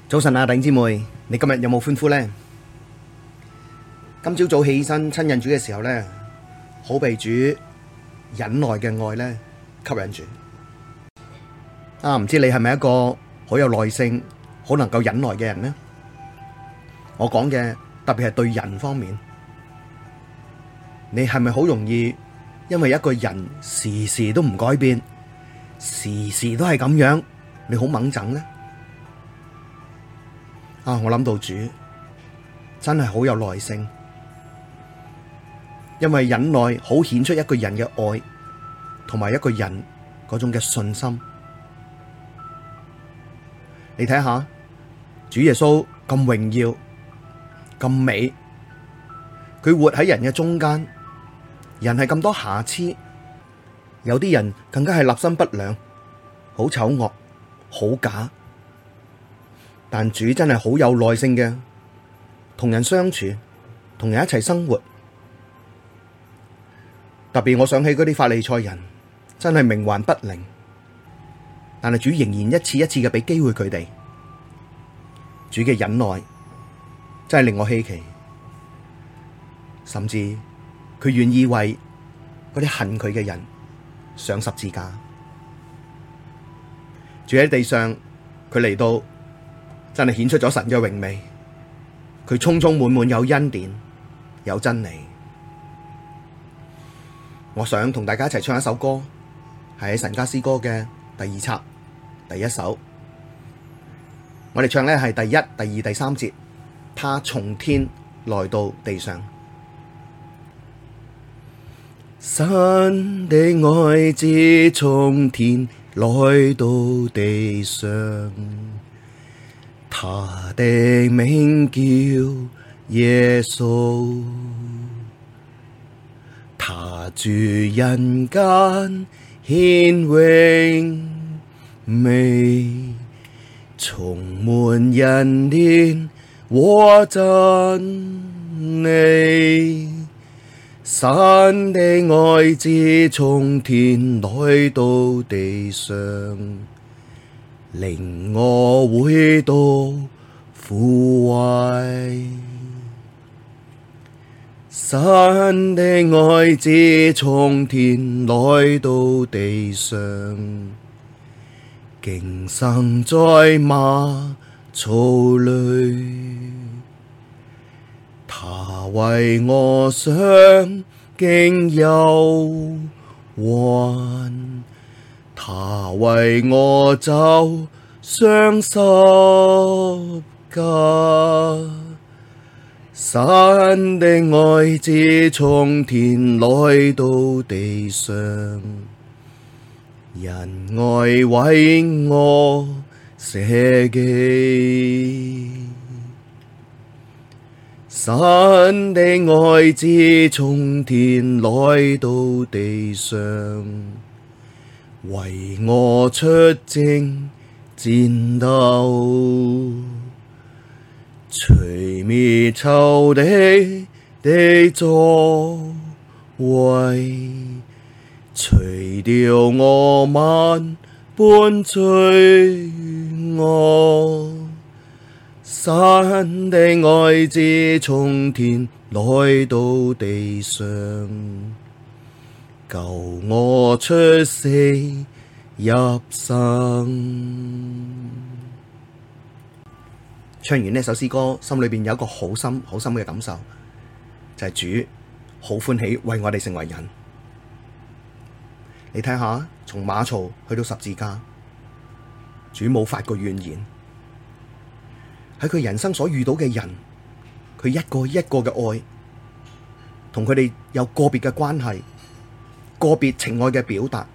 早晨啊，弟兄姊妹，你今日有冇歡呼呢？今朝早起身親近主嘅時候呢，好被主忍耐嘅愛呢吸引住。唔知你係咪一個好有耐性、好能夠忍耐嘅人呢？我講嘅特別係對人方面，你係咪好容易因為一個人時時都唔改變，時時都係咁樣，你好猛憎呢？我諗到主真係好有耐性，因為忍耐好顯出一個人嘅愛，同埋一個人嗰種嘅信心。你睇下，主耶穌咁榮耀、咁美，佢活喺人嘅中間，人係咁多瑕疵，有啲人更加係立心不良，好醜惡，好假。但主真係好有耐性嘅，同人相處，同人一齊生活。特別我想起嗰啲法利賽人，真係冥頑不靈，但係主仍然一次一次嘅俾機會佢哋。主嘅忍耐真係令我稀奇，甚至佢願意為嗰啲恨佢嘅人上十字架。住喺地上，佢嚟到。真係顯出咗神嘅榮美，佢充充滿滿有恩典，有真理。我想同大家一齊唱一首歌，係喺神家詩歌嘅第二冊第一首。我哋唱呢係第一、第二、第三節。他從天來到地上，神的愛子從天來到地上。他的名叫耶穌，他住人間顯榮美，充滿恩典和真理。神的愛子從天來到地上，領我回到父懷。神的愛子從天來到地上，經生在馬槽裡，他為我嘗經憂患，他為我走上十架。神的愛子從天來到地上，因愛為我捨己。神的愛子從天來到地上，為我出征戰鬥，吹滅仇敵的作為，除掉我萬般罪惡。神的愛子從天來到地上，救我出死入生。唱完呢首詩歌，心裏邊有一個好深好深嘅感受，就係主好歡喜為我哋成為人。你睇下，從馬槽去到十字架，主冇發過怨言。喺佢人生所遇到嘅人，佢一個一個嘅愛，同佢哋有個別嘅關係，個別情愛嘅表達，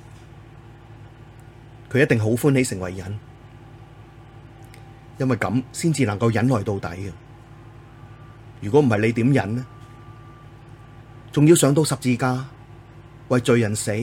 佢一定好歡喜成為人。因為咁先至能夠忍耐到底嘅。如果唔係，你點忍呢？仲要上到十字架為罪人死，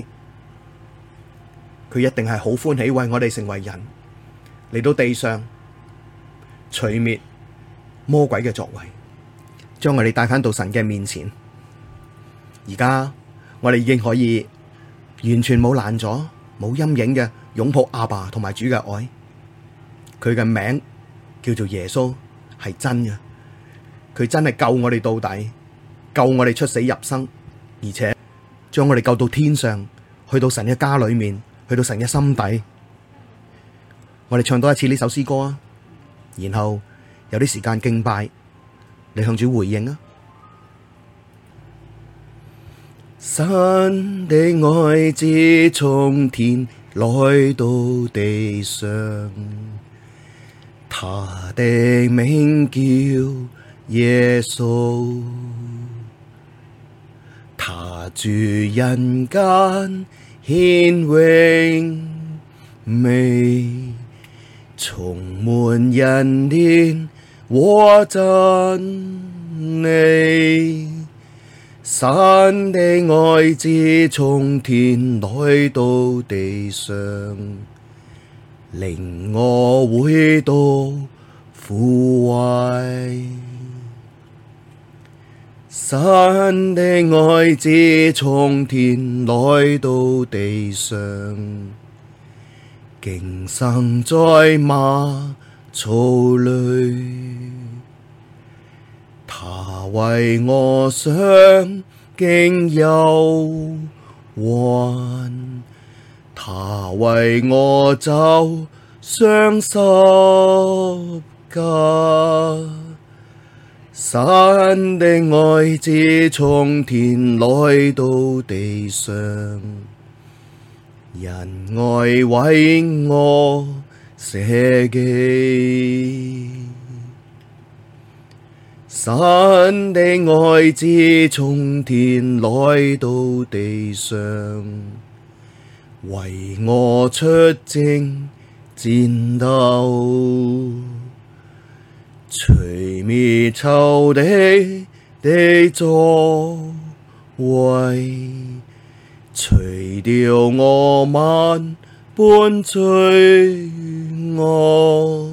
佢一定係好歡喜為我哋成為人，嚟到地上除滅魔鬼嘅作為，將我哋帶返到神嘅面前。而家我哋已經可以完全冇攔阻、冇陰影嘅擁抱阿爸同埋主嘅愛，佢嘅名叫做耶穌係真嘅，佢真係救我哋到底，救我哋出死入生，而且將我哋救到天上，去到神嘅家裏面，去到神嘅心底。我哋唱多一次呢首詩歌啊，然後有啲時間敬拜，你向主回應啊。神的愛子從天來到地上，他的名叫耶穌，他住人間顯榮美，充滿恩典和真理。神的愛子從天來到地上，領我回到父懷。神的愛子從天來到地上，經生在馬槽裡。他為我嘗經憂患，他為我走上十架。神的愛子從天來到地上，因愛為我捨己。神的愛子從天來到地上，為我出征戰鬥，吹滅仇敵的作為，除掉我萬般罪惡。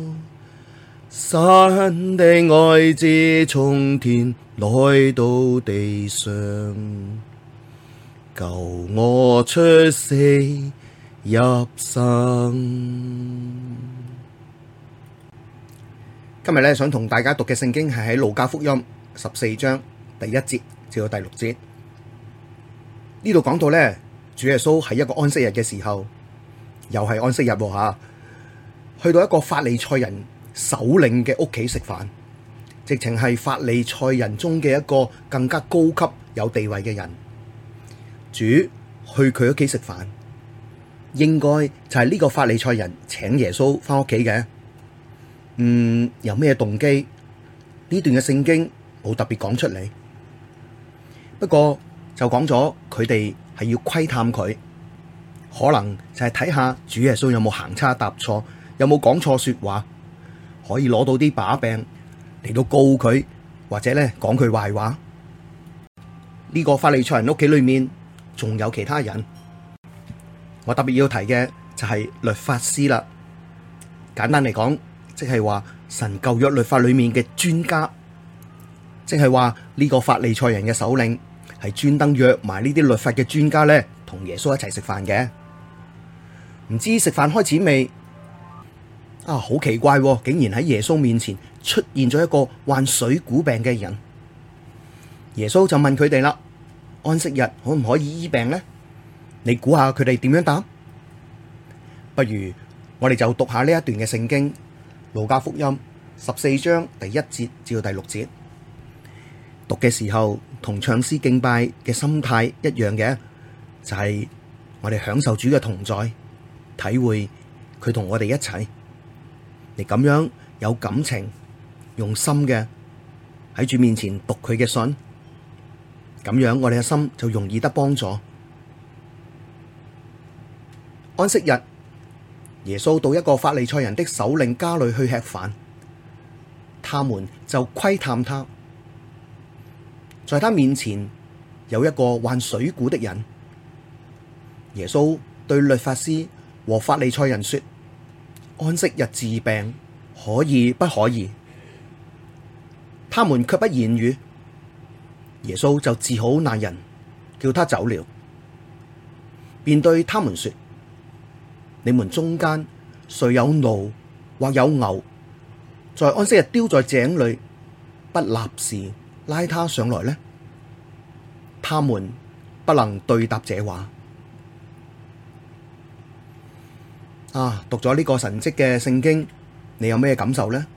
神的愛子從天來到地上，救我出死入生。今日想同大家讀嘅聖經係喺路加福音14章第1節至到第6節。呢度講到主耶穌喺一個安息日嘅時候，又係安息日吓，去到一個法利賽人首領嘅屋企食飯，直情係法利賽人中嘅一個更加高級有地位嘅人。主去佢屋企食飯，應該就係呢個法利賽人請耶穌返屋企嘅。有咩動機？呢段嘅聖經冇特別講出嚟，不過就講咗佢哋係要窺探佢，可能就係睇下主耶穌有冇行差踏錯，有冇講錯說話，可以攞到啲把柄嚟到告佢，或者講佢壞話。呢個法利賽人屋企裏面仲有其他人，我特別要提嘅就係律法師啦。簡單嚟講，即係話神舊約律法裏面嘅專家，即係話呢個法利賽人嘅首領係專登約埋呢啲律法嘅專家同耶穌一齊食飯嘅。唔知食飯開始未？好奇怪，竟然喺耶穌面前出現咗一個患水臌病嘅人。耶穌就問佢哋啦：安息日可唔可以醫病呢？你估下佢哋點樣答？不如我哋就讀下呢一段嘅聖經，路加福音14章第1節至到第6節。讀嘅時候同唱詩敬拜嘅心態一樣嘅，就係我哋享受主嘅同在，體會佢同我哋一齊。你咁樣有感情、用心嘅喺主面前讀佢嘅信，咁樣我哋嘅心就容易得幫助。安息日，耶穌到一個法利賽人的首領家裡去吃飯，他們就窺探他。在他面前有一個患水臌的人。耶穌對律法師和法利賽人說：安息日治病可以不可以？他們卻不言語。耶穌就治好那人，叫他走了，便對他們說：你們中間誰有驢或有牛， 在安息日丟在井裡，不立時拉他上來呢？他們不能對答這話。讀咗呢個神蹟嘅聖經，你有咩感受呢？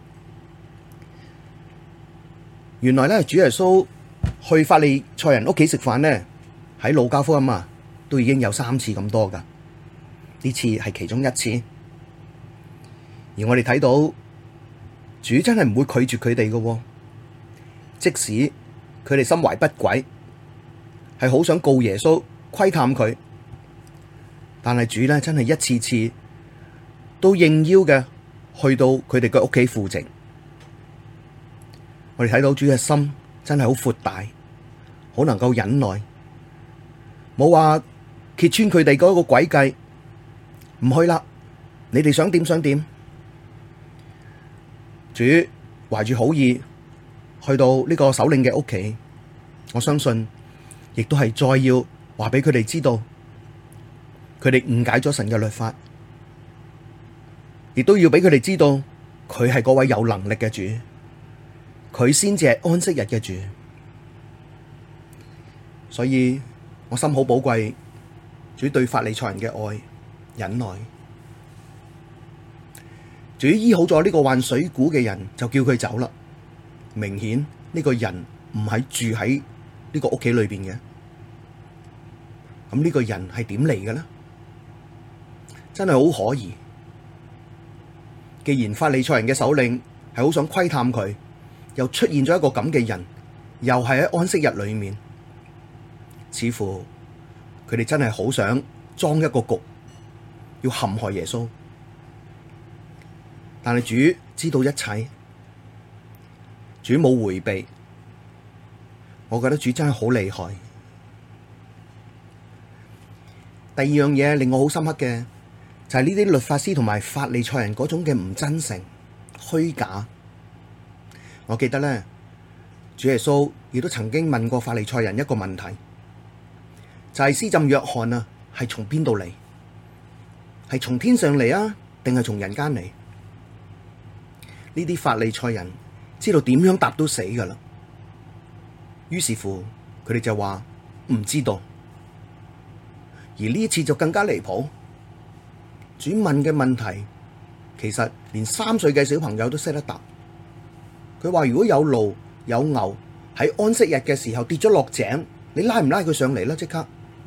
原來咧，主耶穌去法利賽人屋企食飯呢，喺路加福音都已經有3次咁多噶，呢次係其中一次。而我哋睇到主真係唔會拒絕佢哋噶，即使佢哋心懷不軌，係好想告耶穌窺探佢，但係主咧真係一次次都應邀嘅去到佢哋嘅屋企赴席。我哋睇到主嘅心真係好闊大，好能夠忍耐，冇話揭穿佢哋嗰個詭計，唔去啦，你哋想點想點。主懷住好意去到呢個首領嘅屋企，我相信亦都係再要話俾佢哋知道，佢哋誤解咗神嘅律法，亦都要俾佢哋知道佢係嗰位有能力嘅主，佢先至係安息日嘅主。所以我心好寶貴主對法利賽人嘅愛忍耐。主醫好咗呢個患水臌嘅人，就叫佢走啦。明顯呢個人唔係住喺呢個屋企裏邊嘅。咁呢個人係點嚟嘅呢？真係好可疑。既然法利賽人嘅首領係好想窺探佢，又出現咗一個咁嘅人，又係喺安息日裏面，似乎佢哋真係好想裝一個局，要陷害耶穌。但係主知道一切，主冇回避。我覺得主真係好厲害。第二樣嘢令我好深刻嘅，就係呢啲律法師同埋法利賽人嗰種嘅唔真誠、虛假。我記得咧，主耶穌亦都曾經問過法利賽人一個問題，就係施浸約翰係從邊度嚟？係從天上嚟啊，定係從人間嚟？呢啲法利賽人知道點樣答都死噶啦，於是乎佢哋就話唔知道。而呢一次就更加離譜，主問嘅問題其實連3歲嘅小朋友都識得答。佢話如果有驢有牛喺安息日嘅時候跌咗落井，你拉唔拉佢上嚟呢？即刻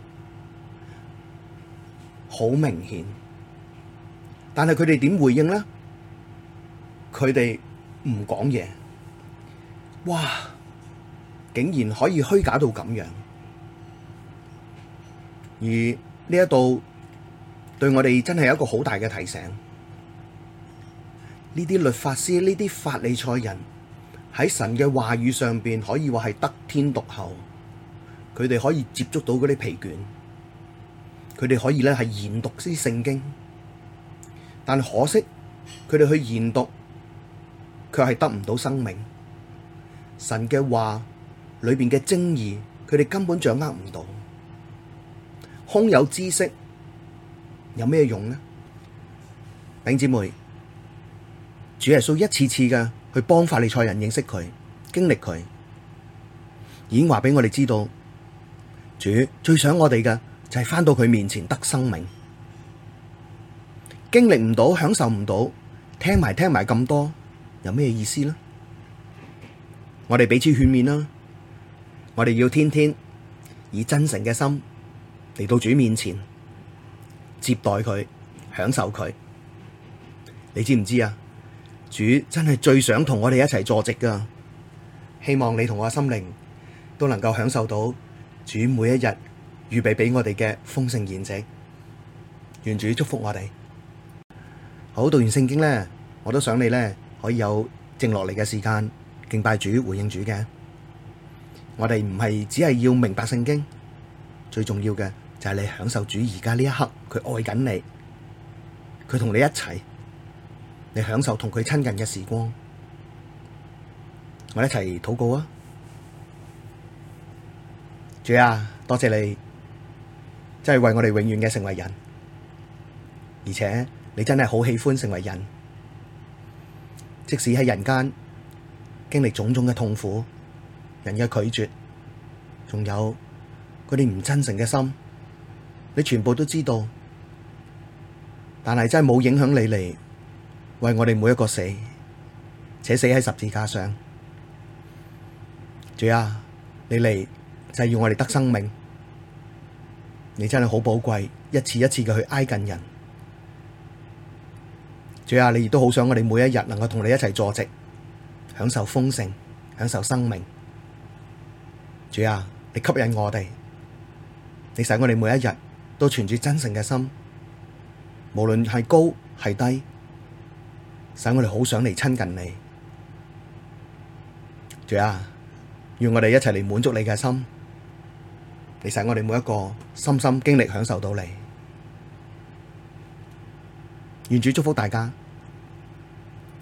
好明顯，但係佢哋點回應呢？佢哋唔講嘢，哇！竟然可以虛假到咁樣。而呢一度對我哋真係有一個好大嘅提醒。呢啲律法師、呢啲法利賽人喺神嘅話語上邊，可以話係得天獨厚。佢哋可以接觸到嗰啲皮卷，佢哋可以咧係研讀啲聖經，但可惜佢哋去研讀，卻係得唔到生命。神嘅話裏邊嘅精義，佢哋根本掌握唔到。空有知識有咩用呢？弟兄姊妹，主耶穌一次次嘅去幫法利賽人認識佢、經歷佢，已經話俾我哋知道，主最想我哋嘅就係返到佢面前得生命。經歷唔到、享受唔到，聽埋咁多，有咩意思呢？我哋彼此勸勉啦，我哋要天天以真誠嘅心嚟到主面前接待佢，享受佢。你知唔知啊？主真係最想同我哋一齊坐席噶。希望你同我嘅心靈都能夠享受到主每一日預備俾我哋嘅豐盛筵席。願主祝福我哋。好，讀完聖經呢，我都想你呢可以有靜落嚟嘅時間敬拜主、回應主嘅。我哋唔係只係要明白聖經，最重要嘅就係你享受主而家呢一刻，佢愛緊你，佢同你一齊，你享受同佢親近嘅時光。我哋一齊禱告啊！主啊，多謝你，真係為我哋永遠嘅成為人，而且你真係好喜歡成為人。 即使喺人間經歷種種嘅痛苦、人嘅拒絕，仲有嗰啲唔真誠嘅心，你全部都知道，但係真係冇影響你嚟為我哋每一個死，且死喺十字架上。主啊，你嚟就係要我哋得生命，你真係好寶貴，一次一次嘅去挨近人。主啊，你亦都好想我哋每一日能夠同你一齊坐席，享受豐盛，享受生命。主啊，你吸引我哋，你使我哋每一日都存住真誠嘅心，無論係高係低，使我哋好想嚟親近你。主啊，願我哋一齊嚟滿足你嘅心，你使我哋每一個深深經歷享受到你。願主祝福大家。